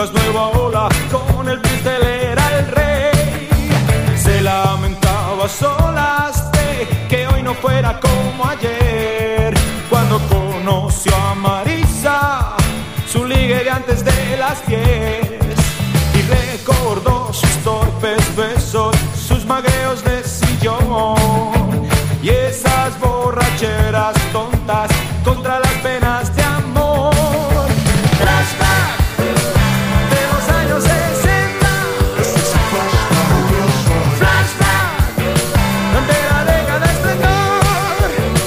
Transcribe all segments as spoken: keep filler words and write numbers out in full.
Las nueva ola con el triste él era el rey. Se lamentaba a solas de que hoy no fuera como ayer. Cuando conoció a Marisa, su ligue de antes de las diez. Y recordó sus torpes besos, sus magueos de sillón y esas borracheras tontas contra las penas de amor. Flashback de los años sesenta. Flashback de la década de esplendor.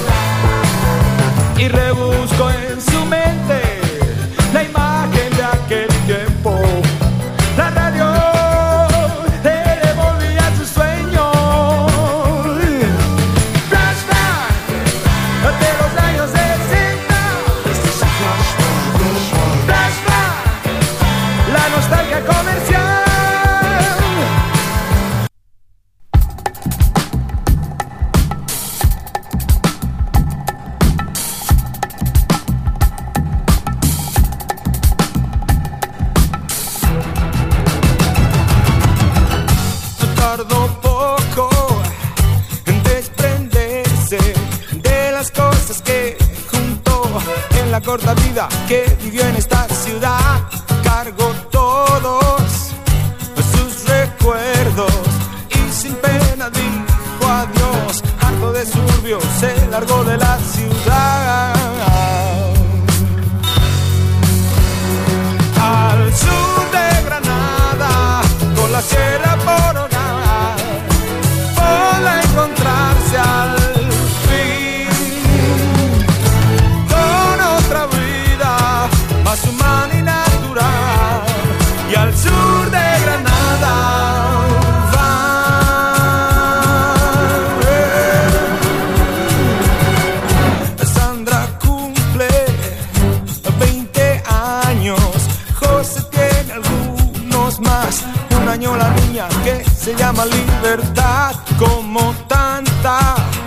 Y rebuscó en su mente la imagen de aquel tiempo. La radio le devolvía sus sueños. Flashback de los años sesenta. Flashback, la nostalgia comercial. Tardó poco en desprenderse de las cosas que juntó en la corta vida que vivió en esta ciudad. Cargó todos sus recuerdos y sin pena dijo adiós. Harto de suburbio se largó de la ciudad. Al sur de Granada, con la sierra por hogar, podrá encontrarse al fin con otra vida más humana y natural. Y al sur de Granada va. Sandra cumple veinte años, José tiene algunos más. Un año la niña que se llama Libertad, como tanta